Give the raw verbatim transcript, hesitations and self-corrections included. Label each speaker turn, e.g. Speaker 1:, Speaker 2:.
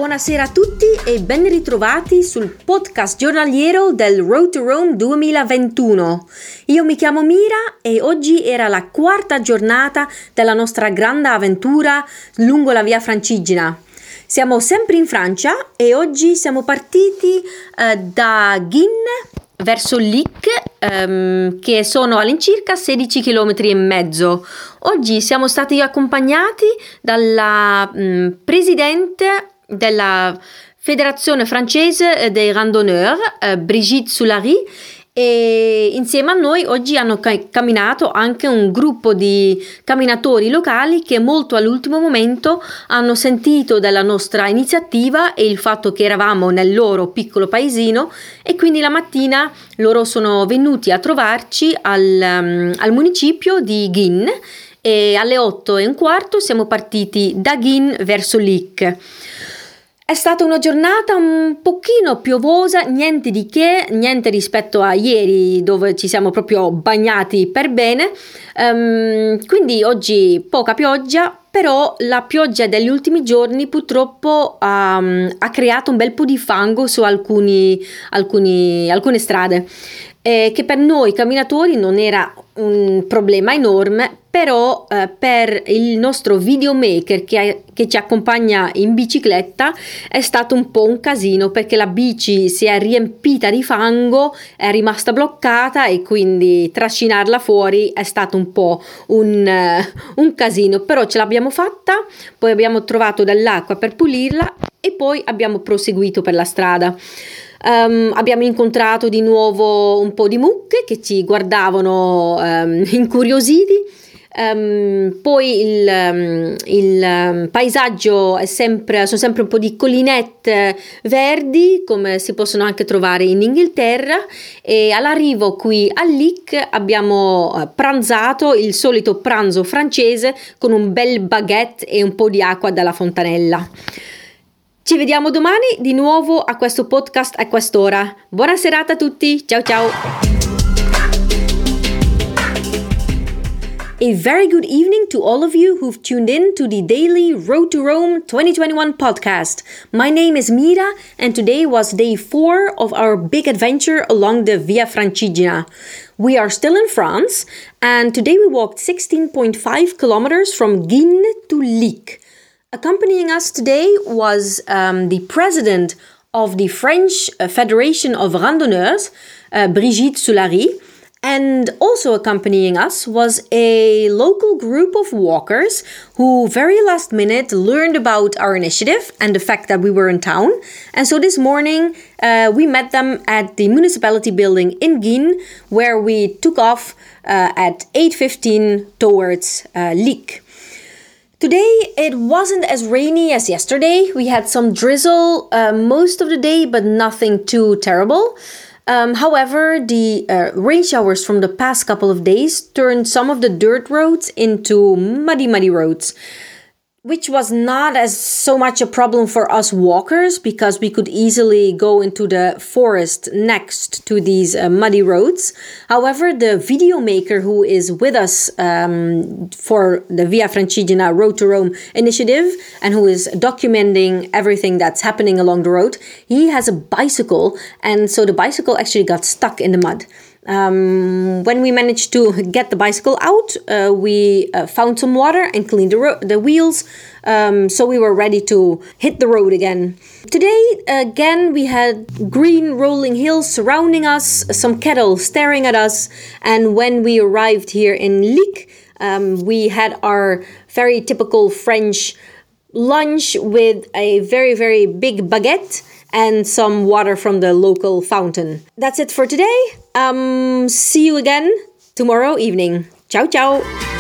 Speaker 1: Buonasera a tutti e ben ritrovati sul podcast giornaliero del Road to Rome duemilaventuno. Io mi chiamo Mira e oggi era la quarta giornata della nostra grande avventura lungo la via Francigena. Siamo sempre in Francia e oggi siamo partiti eh, da Guînes verso Licques, ehm, che sono all'incirca sedici chilometri e mezzo. Oggi siamo stati accompagnati dalla mh, presidente della Federazione francese dei randonneurs, eh, Brigitte Soulary, e insieme a noi oggi hanno ca- camminato anche un gruppo di camminatori locali che molto all'ultimo momento hanno sentito della nostra iniziativa e il fatto che eravamo nel loro piccolo paesino, e quindi la mattina loro sono venuti a trovarci al, um, al municipio di Guînes e alle otto e un quarto siamo partiti da Guînes verso Licques. È stata una giornata un pochino piovosa, niente di che, niente rispetto a ieri dove ci siamo proprio bagnati per bene, um, quindi oggi poca pioggia, però la pioggia degli ultimi giorni purtroppo um, ha creato un bel po' di fango su alcuni, alcuni, alcune strade, eh, che per noi camminatori non era un problema enorme, però eh, per il nostro videomaker che, che ci accompagna in bicicletta è stato un po' un casino, perché la bici si è riempita di fango, è rimasta bloccata e quindi trascinarla fuori è stato un po' un, uh, un casino, però ce l'abbiamo fatta, poi abbiamo trovato dell'acqua per pulirla e poi abbiamo proseguito per la strada. Um, abbiamo incontrato di nuovo un po' di mucche che ci guardavano um, incuriositi. Um, poi il, um, il um, paesaggio è sempre, sono sempre un po' di collinette verdi, come si possono anche trovare in Inghilterra, e all'arrivo qui a Licques abbiamo uh, pranzato il solito pranzo francese con un bel baguette e un po' di acqua dalla fontanella. Ci vediamo domani di nuovo a questo podcast a quest'ora. Buona serata a tutti, ciao ciao! A very good evening to all of you who've tuned in to the daily Road to Rome twenty twenty-one podcast. My name is Mira and today was day four of our big adventure along the Via Francigena. We are still in France and today we walked sixteen point five kilometers from Guînes to Licques. Accompanying us today was um, the president of the French Federation of Randonneurs, uh, Brigitte Soulary, and also accompanying us was a local group of walkers who very last minute learned about our initiative and the fact that we were in town. And so this morning uh, we met them at the municipality building in Guînes, where we took off uh, at eight fifteen towards uh, Licques. Today it wasn't as rainy as yesterday. We had some drizzle uh, most of the day, but nothing too terrible. Um, however, the uh, rain showers from the past couple of days turned some of the dirt roads into muddy, muddy roads, which was not as so much a problem for us walkers because we could easily go into the forest next to these uh, muddy roads. However, the video maker who is with us um, for the Via Francigena Road to Rome initiative and who is documenting everything that's happening along the road, he has a bicycle, and so the bicycle actually got stuck in the mud. Um, when we managed to get the bicycle out, uh, we uh, found some water and cleaned the, ro- the wheels, um, so we were ready to hit the road again. Today, again, we had green rolling hills surrounding us, some cattle staring at us, and when we arrived here in Licques, um, we had our very typical French lunch with a very, very big baguette and some water from the local fountain. That's it for today. Um, see you again tomorrow evening. Ciao, ciao.